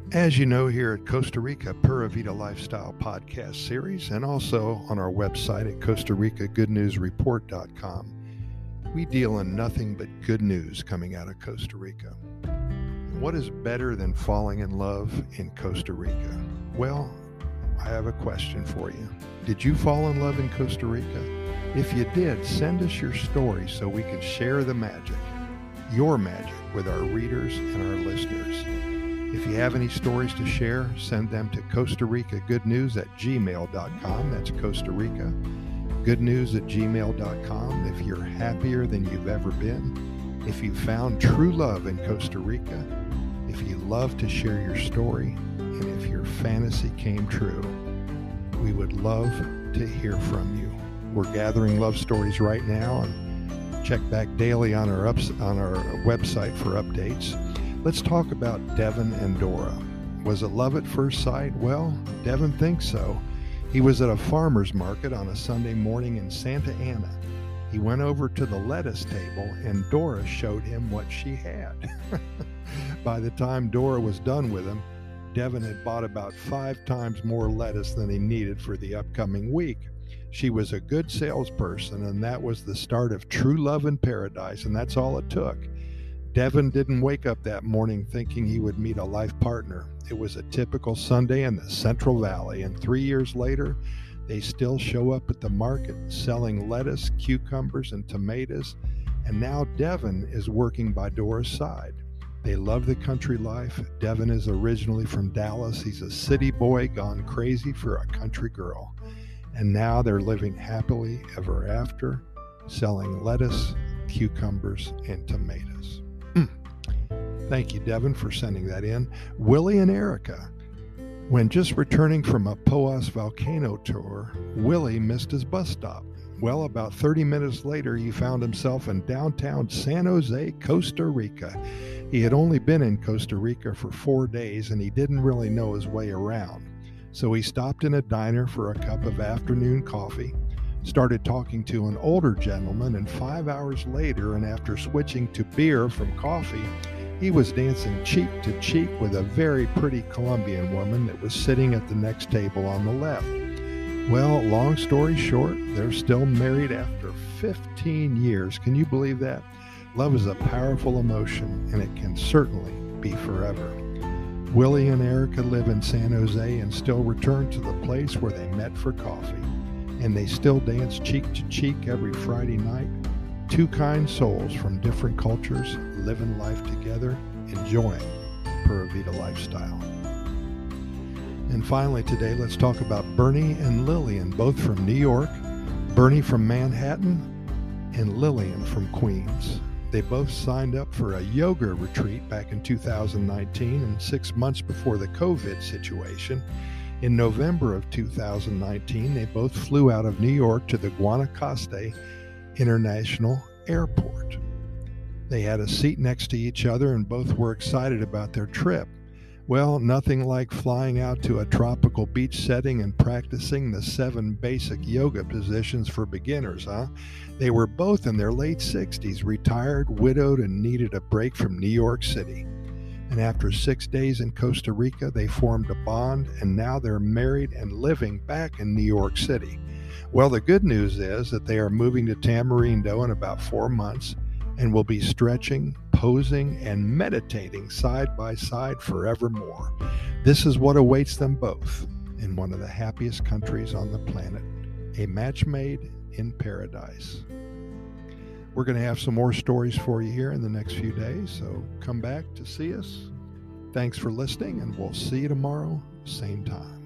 As you know, here at Costa Rica Pura Vida Lifestyle podcast series, and also on our website at CostaRicaGoodNewsReport.com, we deal in nothing but good news coming out of Costa Rica. What is better than falling in love in Costa Rica? Well, I have a question for you. Did you fall in love in Costa Rica? If you did, send us your story so we can share the magic, your magic, with our readers and our listeners. If you have any stories to share, send them to CostaRicaGoodNews@gmail.com. That's Costa Rica Goodnews@gmail.com. If you're happier than you've ever been, if you found true love in Costa Rica, if you love to share your story, and if your fantasy came true, we would love to hear from you. We're gathering love stories right now, and check back daily on our website for updates. Let's talk about Devin and Dora. Was it love at first sight? Well, Devin thinks so. He was at a farmer's market on a Sunday morning in Santa Ana. He went over to the lettuce table and Dora showed him what she had. By the time Dora was done with him, Devin had bought about 5 times more lettuce than he needed for the upcoming week. She was a good salesperson, and that was the start of true love in paradise, and that's all it took. Devin didn't wake up that morning thinking he would meet a life partner. It was a typical Sunday in the Central Valley, and 3 years later, they still show up at the market selling lettuce, cucumbers, and tomatoes, and now Devin is working by Dora's side. They love the country life. Devin is originally from Dallas. He's a city boy gone crazy for a country girl. And now they're living happily ever after, selling lettuce, cucumbers, and tomatoes. Thank you, Devin, for sending that in. Willie and Erica. When just returning from a Poas volcano tour, Willie missed his bus stop. Well, about 30 minutes later, he found himself in downtown San Jose, Costa Rica. He had only been in Costa Rica for 4 days, and he didn't really know his way around. So he stopped in a diner for a cup of afternoon coffee, started talking to an older gentleman, and 5 hours later, and after switching to beer from coffee, he was dancing cheek to cheek with a very pretty Colombian woman that was sitting at the next table on the left. Well, long story short, they're still married after 15 years. Can you believe that? Love is a powerful emotion, and it can certainly be forever. Willie and Erica live in San Jose and still return to the place where they met for coffee. And they still dance cheek to cheek every Friday night. 2 kind souls from different cultures living life together, enjoying Pura Vida lifestyle. And finally today, let's talk about Bernie and Lillian, both from New York. Bernie from Manhattan and Lillian from Queens. They both signed up for a yoga retreat back in 2019, and 6 months before the COVID situation. In November of 2019, they both flew out of New York to the Guanacaste International Airport. They had a seat next to each other and both were excited about their trip. Well, nothing like flying out to a tropical beach setting and practicing the 7 basic yoga positions for beginners, huh? They were both in their late 60s, retired, widowed, and needed a break from New York City. And after 6 days in Costa Rica, they formed a bond, and now they're married and living back in New York City. Well, the good news is that they are moving to Tamarindo in about 4 months and will be stretching, posing, and meditating side by side forevermore. This is what awaits them both in one of the happiest countries on the planet, a match made in paradise. We're going to have some more stories for you here in the next few days, so come back to see us. Thanks for listening, and we'll see you tomorrow, same time.